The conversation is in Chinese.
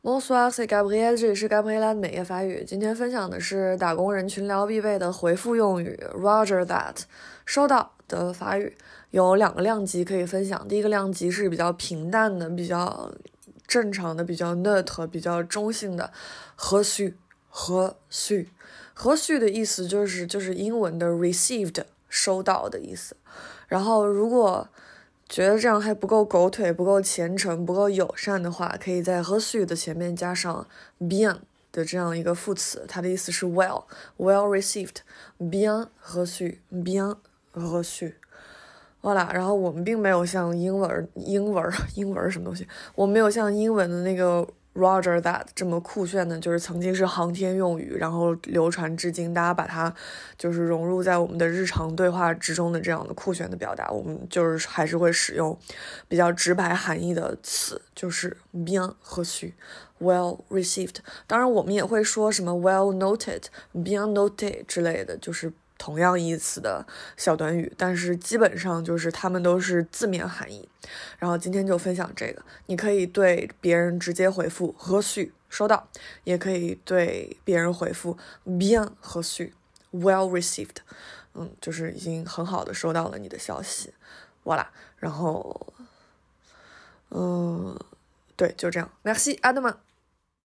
Bonsoir, c'est Gabrielle，这里是 Gabriella 的美业法语。今天分享的是打工人群聊必备的回复用语 Roger that， 收到的法语有2个量级可以分享。第一个量级是比较平淡的、比较正常的、比较 neutre、比较中性的reçu。reçu的意思就是英文的 received， 收到的意思。然后如果觉得这样还不够狗腿、不够虔诚、不够友善的话，可以在reçu的前面加上 bien 的这样一个副词，它的意思是 well received， bien reçu。voilà， 然后我们并没有像英文什么东西，我们没有像英文的那个Roger that 这么酷炫的，就是曾经是航天用语，然后流传至今，大家把它就是融入在我们的日常对话之中的这样的酷炫的表达，我们就是还是会使用比较直白含义的词，就是 bien reçu、well received。当然，我们也会说什么 well noted、bien noté 之类的，就是同样意思的小短语，但是基本上就是它们都是字面含义。然后今天就分享这个，你可以对别人直接回复reçu收到，也可以对别人回复 bien reçu well received， 就是已经很好的收到了你的消息。voilà， 然后对，就这样。Merci， à demain。